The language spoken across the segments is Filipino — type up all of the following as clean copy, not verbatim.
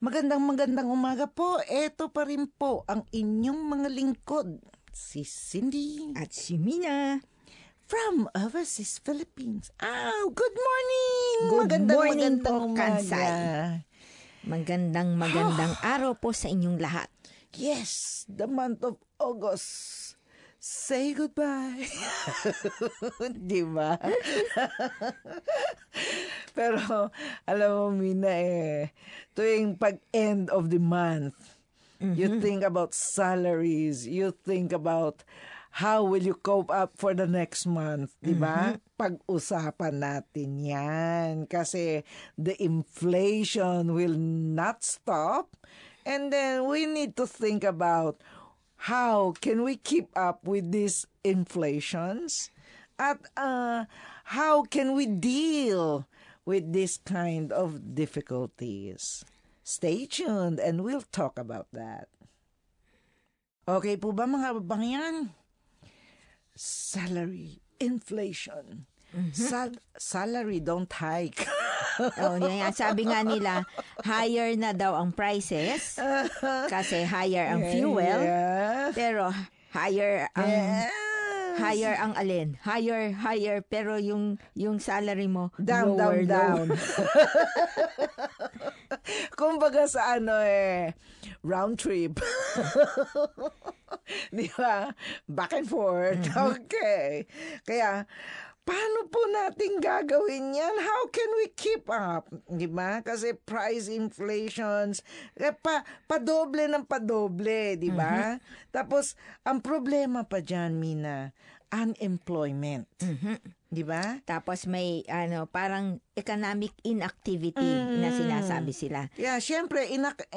Magandang umaga po. Eto pa rin po ang inyong mga lingkod, si Cindy. At si Mina. From Overseas Philippines. Good morning! Good morning po, umaga. Kansay. Magandang araw po sa inyong lahat. Yes, the month of August. Say goodbye. Di ba? Pero, alam mo, Mina, tuwing pag-end of the month, you think about salaries, you think about how will you cope up for the next month, di ba? Pag-usapan natin yan. Kasi the inflation will not stop. And then we need to think about how can we keep up with these inflations? At how can we deal with this kind of difficulties? Stay tuned and we'll talk about that. Okay po ba mga babayan? Salary inflation. Salary don't hike. Yan. Sabi nga nila, higher na daw ang prices kasi higher ang fuel. Yeah. Pero higher ang alin? Higher pero yung salary mo Down. Kumbaga sa round trip. Di ba? Back and forth. Okay. Kaya, paano po natin gagawin yan? How can we keep up? Di ba? Kasi price inflations, padoble ng padoble, di ba? Tapos, ang problema pa dyan, Mina, unemployment. Di ba? Tapos may parang economic inactivity na sinasabi sila. Yeah, syempre,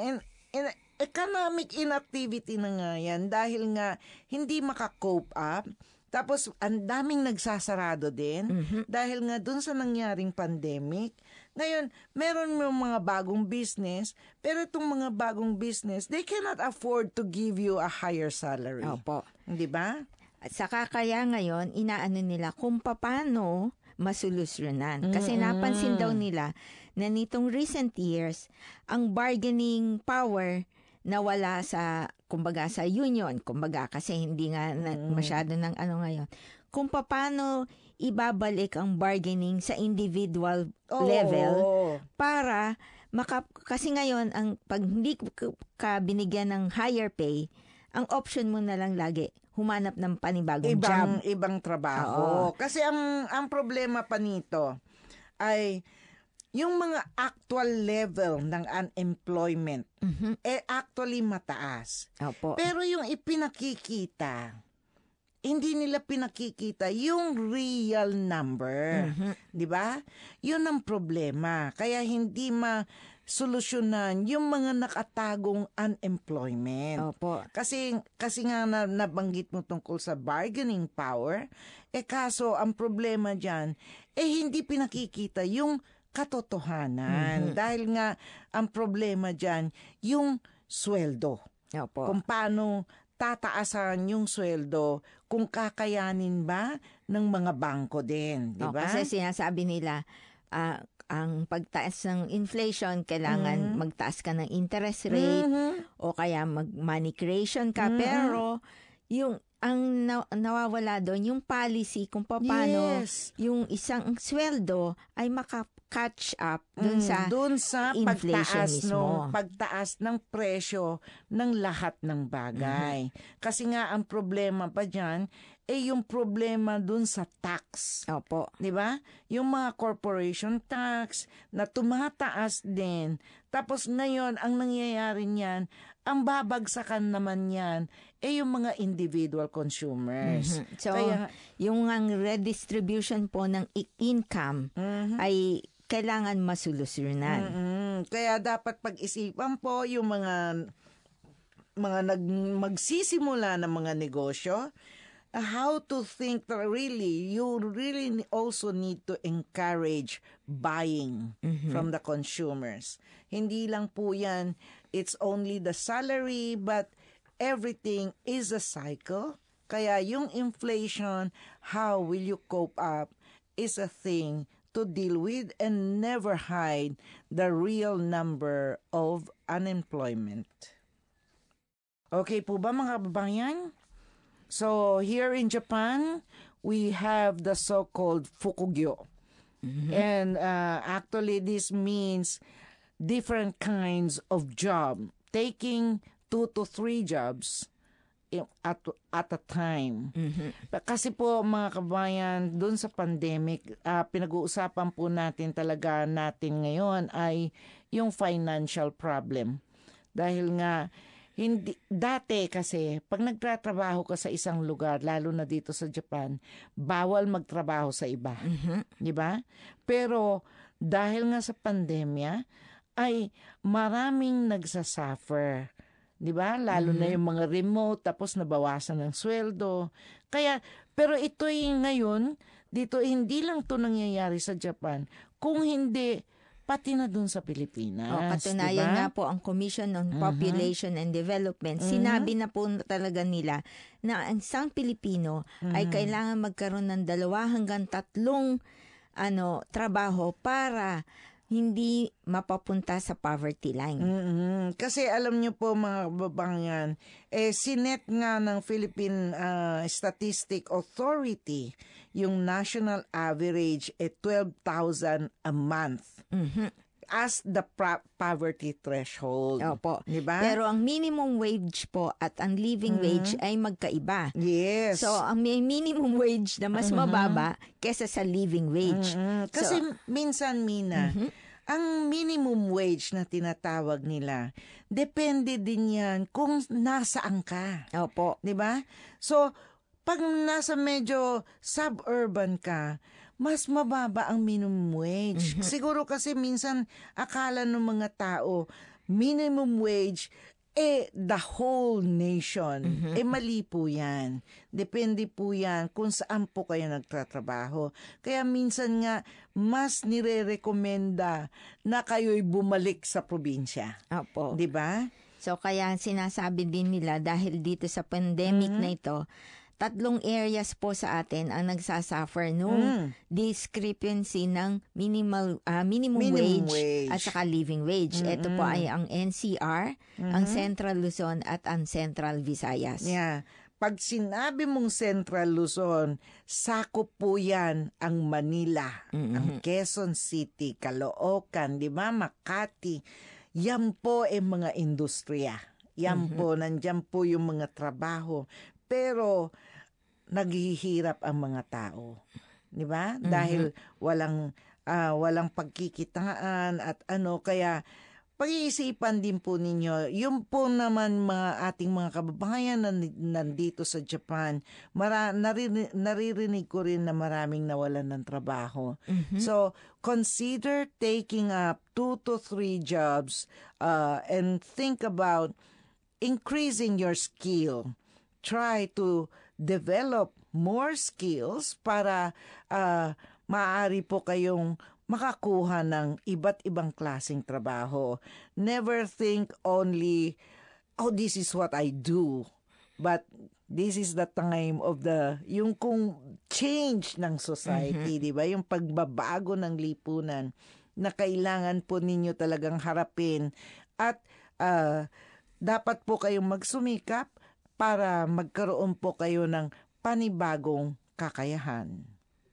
economic inactivity na nga yan dahil nga hindi maka-cope up. Tapos, ang daming nagsasarado din dahil nga dun sa nangyaring pandemic. Ngayon, meron mga bagong business, pero itong mga bagong business, they cannot afford to give you a higher salary. Opo. Di ba? At saka kaya ngayon, inaano nila kung paano masolusyonan. Kasi napansin daw nila na nitong recent years, ang bargaining power nawala sa, kumbaga, sa union. Kumbaga, kasi hindi nga masyado ng ngayon. Kung paano ibabalik ang bargaining sa individual level para kasi ngayon, pag hindi ka binigyan ng higher pay, ang option mo na lang lagi, humanap ng panibagong job. Ibang trabaho. Kasi ang problema pa nito ay yung mga actual level ng unemployment actually mataas. Opo. Pero yung ipinakikita, hindi nila pinakikita yung real number. Di ba? Yun ang problema. Kaya hindi solusyonan yung mga nakatagong unemployment. Opo. Kasi nga nabanggit mo tungkol sa bargaining power, kaso ang problema dyan, hindi pinakikita yung katotohanan. Dahil nga ang problema dyan, yung sweldo. Opo. Kung paano tataasan yung sweldo, kung kakayanin ba ng mga bangko din. Di ba? Kasi sinasabi nila, ang pagtaas ng inflation, kailangan magtaas ka ng interest rate o kaya mag-money creation ka. Pero ang nawawala doon, yung policy kung paano yung isang sweldo ay maka-catch up doon sa inflation pagtaas ng presyo ng lahat ng bagay. Kasi nga ang problema pa dyan, yung problema dun sa tax. Opo. Di ba? Yung mga corporation tax na tumataas din. Tapos ngayon, ang nangyayari niyan, ang babagsakan naman yan, yung mga individual consumers. So, yung redistribution po ng income ay kailangan masolusyonan. Kaya dapat pag-isipan po yung mga magsisimula ng mga negosyo, how to think that you really also need to encourage buying from the consumers. Hindi lang po yan, it's only the salary, but everything is a cycle. Kaya yung inflation, how will you cope up, is a thing to deal with and never hide the real number of unemployment. Okay po ba mga kababayan? So here in Japan, we have the so-called fukugyo. And actually this means different kinds of job, taking 2 to 3 jobs at a time. Kasi po mga kabayan, doon sa pandemic, pinag-uusapan po natin talaga natin ngayon ay yung financial problem. Dahil nga, dati kasi, pag nagtatrabaho ka sa isang lugar, lalo na dito sa Japan, bawal magtrabaho sa iba. Di ba? Pero dahil nga sa pandemya, ay maraming nagsasuffer. Di ba? Lalo na yung mga remote, tapos nabawasan ng sweldo. Kaya, pero ito'y ngayon, dito hindi lang to nangyayari sa Japan, kung hindi, pati na dun sa Pilipinas. Katunayan diba? nga po ang Commission on Population and Development, sinabi na po talaga nila na ang isang Pilipino ay kailangan magkaroon ng 2 hanggang 3 trabaho para hindi mapapunta sa poverty line. Kasi alam niyo po mga kababayan, sinet nga ng Philippine Statistic Authority yung national average 12,000 a month as the poverty threshold. Opo. Diba? Pero ang minimum wage po at ang living wage ay magkaiba. Yes. So, ang may minimum wage na mas mababa kesa sa living wage. Kasi minsan, Mina, ang minimum wage na tinatawag nila, depende din yan kung nasaan ka. Opo. Diba? So, pag nasa medyo suburban ka, mas mababa ang minimum wage. Siguro kasi minsan akala ng mga tao, minimum wage, the whole nation. Mali po yan. Depende po yan kung saan po kayo nagtatrabaho. Kaya minsan nga, mas nire-recommenda na kayo'y bumalik sa probinsya. Opo. Diba? So, kaya sinasabi din nila dahil dito sa pandemic na ito, 3 areas po sa atin ang nagsasuffer nung discrepancy ng minimum wage at saka living wage. Ito po ay ang NCR, ang Central Luzon at ang Central Visayas. Yeah. Pag sinabi mong Central Luzon, sakop po yan ang Manila, ang Quezon City, Caloocan, di ba? Makati. Yan po ay mga industriya. Yan po, nandyan po yung mga trabaho. Pero naghihirap ang mga tao, 'di ba? Dahil walang pagkikitaan at kaya pag-iisipan din po ninyo, yung po naman mga ating mga kababayan na nandito sa Japan, naririnig ko rin na maraming nawalan ng trabaho. So, consider taking up 2 to 3 jobs and think about increasing your skill. Try to develop more skills para maaari po kayong makakuha ng iba't ibang klaseng trabaho. Never think only, this is what I do. But this is the time of yung kung change ng society, di ba? Yung pagbabago ng lipunan na kailangan po ninyo talagang harapin. At dapat po kayong magsumikap para magkaroon po kayo ng panibagong kakayahan.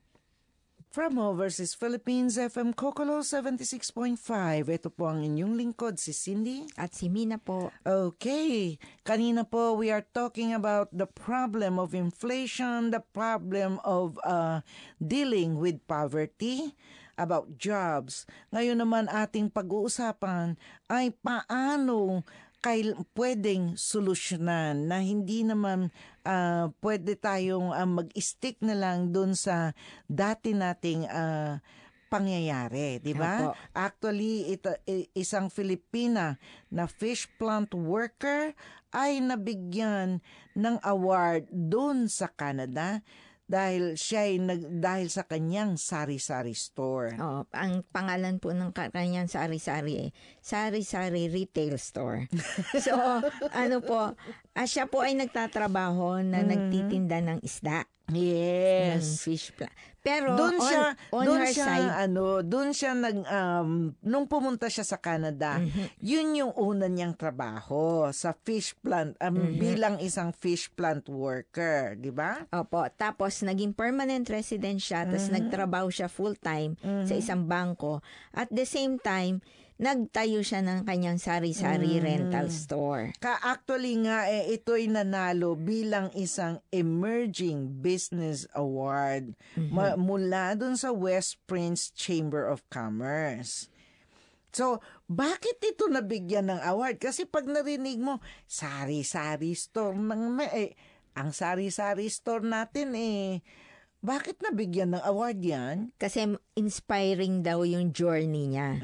From Overseas Philippines, FM Kokolo 76.5. Ito po ang inyong lingkod, si Cindy. At si Mina po. Okay. Kanina po, we are talking about the problem of inflation, the problem of dealing with poverty, about jobs. Ngayon naman ating pag-uusapan ay paano pwedeng solusyonan na hindi naman pwede tayong mag-stick na lang dun sa dati nating pangyayari, di ba? Actually, isang Filipina na fish plant worker ay nabigyan ng award dun sa Canada dahil dahil sa kanyang sari-sari store. Ang pangalan po ng kanyang sari-sari Sari-Sari Retail Store. So, siya po ay nagtatrabaho na nagtitinda ng isda. Yes. fish plant. Pero Doon on her side, doon siya nung pumunta siya sa Canada, yun yung una niyang trabaho sa fish plant bilang isang fish plant worker, di ba? opo, tapos naging permanent resident siya, tapos nagtrabaho siya full-time sa isang bangko. At the same time, nagtayo siya ng kanyang sari-sari rental store. Actually nga, ito'y nanalo bilang isang Emerging Business Award mula dun sa West Prince Chamber of Commerce. So, bakit ito nabigyan ng award? Kasi pag narinig mo, sari-sari store, ang sari-sari store natin bakit nabigyan ng award yan? Kasi inspiring daw yung journey niya.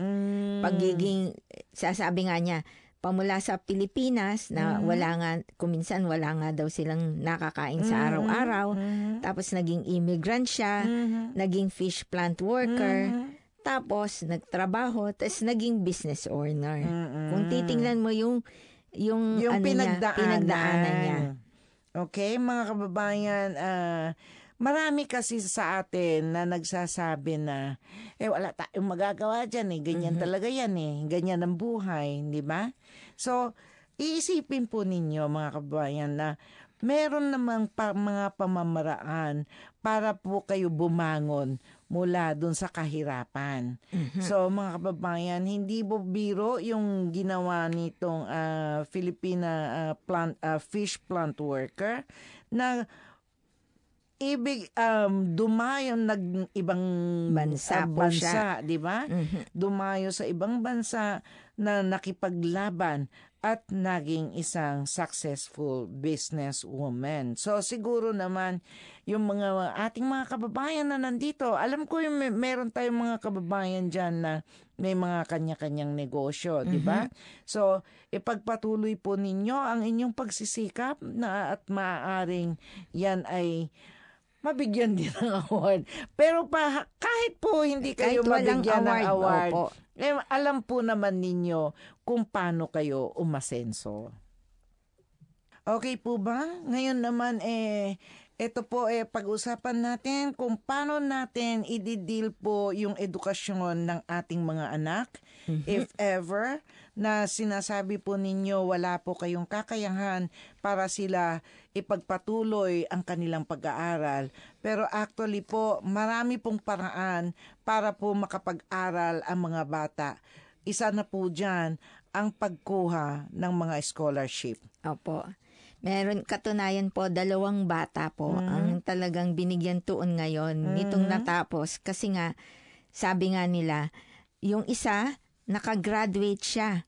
Sasabi nga niya, pamula sa Pilipinas na wala nga, kuminsan wala nga daw silang nakakain sa araw-araw. Tapos naging immigrant siya, naging fish plant worker, tapos nagtrabaho, tapos naging business owner. Kung titingnan mo yung pinagdaanan niya. Okay, mga kababayan, marami kasi sa atin na nagsasabi na, wala tayong magagawa dyan ganyan talaga yan ganyan ang buhay, di ba? So, iisipin po ninyo mga kababayan na meron namang mga pamamaraan para po kayo bumangon mula dun sa kahirapan. So, mga kababayan, hindi po biro yung ginawa nitong Filipina fish plant worker na dumayo ibang bansa, di ba? Dumayo sa ibang bansa na nakipaglaban at naging isang successful businesswoman. So siguro naman yung mga ating mga kababayan na nandito, alam ko yung meron tayong mga kababayan diyan na may mga kanya-kanyang negosyo, di ba? So ipagpatuloy po ninyo ang inyong pagsisikap at maaaring yan ay mabigyan din ng award. Pero kahit po hindi kayo mabigyan ng award, alam po naman ninyo kung paano kayo umasenso. Okay po ba? Ngayon naman ito po pag-usapan natin kung paano natin i-deal po yung edukasyon ng ating mga anak. If ever na sinasabi po ninyo wala po kayong kakayahan para sila ipagpatuloy ang kanilang pag-aaral. Pero actually po, marami pong paraan para po makapag-aral ang mga bata. Isa na po dyan ang pagkuha ng mga scholarship. Opo. Meron katunayan po, 2 bata po ang talagang binigyan tuon ngayon nitong natapos. Kasi nga, sabi nga nila, yung isa, nakagraduate siya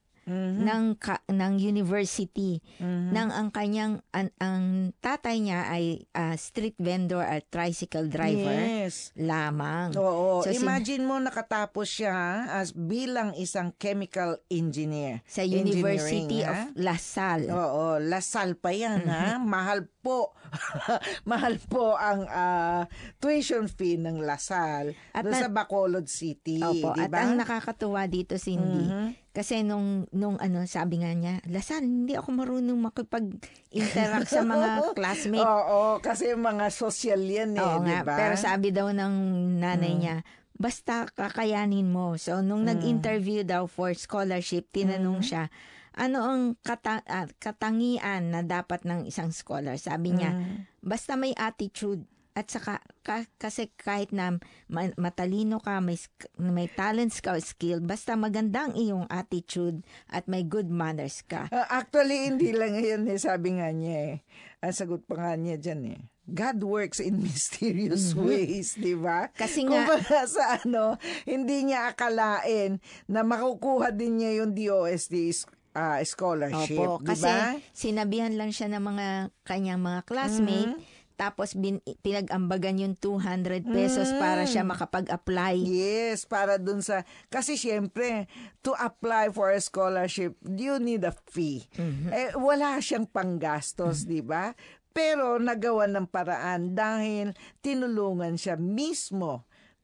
ng university nang ang kanyang ang tatay niya ay street vendor at tricycle driver lamang. Oo. So, imagine mo nakatapos siya as bilang isang chemical engineer sa University of La Salle. Oo, La Salle pa yan ha. Mahal po. Mahal po ang tuition fee ng La Salle doon sa Bacolod City. Opo, diba? At ang nakakatuwa dito, Cindy, kasi nung sabi nga niya, Lasal, hindi ako marunong makipag-interact sa mga classmates. Oo, kasi mga social yan diba? Pero sabi daw ng nanay niya, basta kakayanin mo. So, nung nag-interview daw for scholarship, tinanong siya, ano ang katangian na dapat ng isang scholar? Sabi niya, basta may attitude. At saka, kasi kahit na matalino ka, may talents ka o skill, basta maganda ang iyong attitude at may good manners ka. Actually, hindi lang yun sabi nga niya Ang sagot pa nga niya dyan God works in mysterious ways, di ba? Kasi nga, kumbaga sa hindi niya akalain na makukuha din niya yung DOST scholarship, opo, di ba? Kasi sinabihan lang siya ng mga kanyang mga classmate, tapos pinag-ambagan yung 200 pesos para siya makapag-apply. Yes, para dun sa... Kasi syempre, to apply for a scholarship, you need a fee. Wala siyang panggastos, di ba? Pero nagawa ng paraan dahil tinulungan siya mismo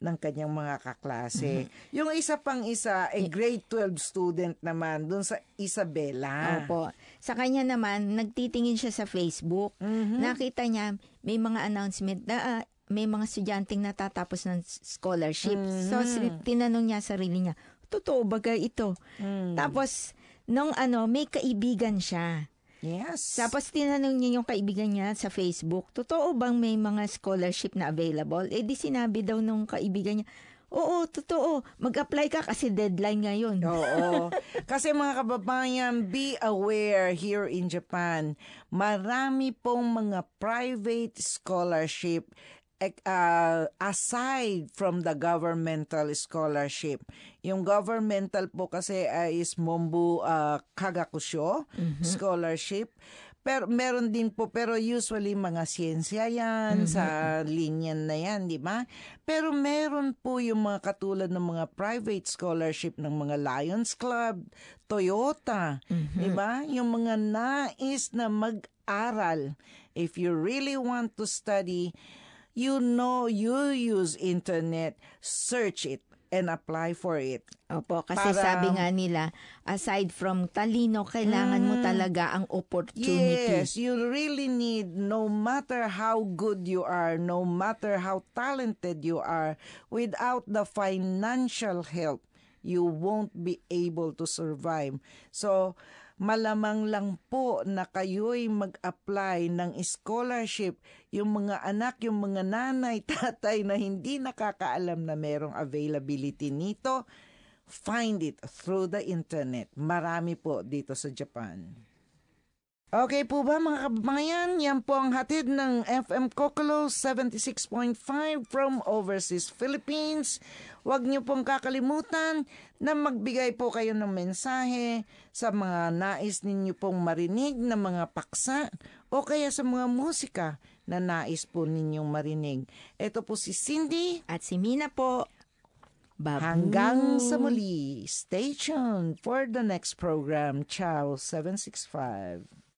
ng kanyang mga kaklase. Yung isa pang isa, grade 12 student naman dun sa Isabela. Opo. Sa kanya naman, nagtitingin siya sa Facebook. Nakita niya, may mga announcement na may mga estudyanteng natatapos ng scholarship. So, tinanong niya sarili niya, totoo bagay ito? Tapos, may kaibigan siya. Yes. Tapos tinanong niya yung kaibigan niya sa Facebook, totoo bang may mga scholarship na available? Di sinabi daw nung kaibigan niya, oo, totoo. Mag-apply ka kasi deadline ngayon. Oo. Kasi mga kababayan, be aware here in Japan. Marami pong mga private scholarship aside from the governmental scholarship. Yung governmental po kasi is Mombu Kagakusho scholarship. Pero meron din po, pero usually mga siyensya yan, sa linya na yan, di ba? Pero meron po yung mga katulad ng mga private scholarship ng mga Lions Club, Toyota, di ba? Yung mga nais na mag-aral. If you really want to study, you use internet, search it, and apply for it. Opo, kasi sabi nga nila, aside from talino, kailangan mo talaga ang opportunity. Yes, you really need, no matter how good you are, no matter how talented you are, without the financial help, you won't be able to survive. So, malamang lang po na kayo'y mag-apply ng scholarship. Yung mga anak, yung mga nanay, tatay na hindi nakakaalam na merong availability nito, find it through the internet. Marami po dito sa Japan. Okay po ba mga kababayan? Yan po ang hatid ng FM Kokolo 76.5 from overseas Philippines. Huwag niyo pong kakalimutan na magbigay po kayo ng mensahe sa mga nais ninyo pong marinig na mga paksa o kaya sa mga musika na nais po ninyong marinig. Ito po si Cindy at si Mina po. Babu. Hanggang sa muli. Stay tuned for the next program. Ciao 765.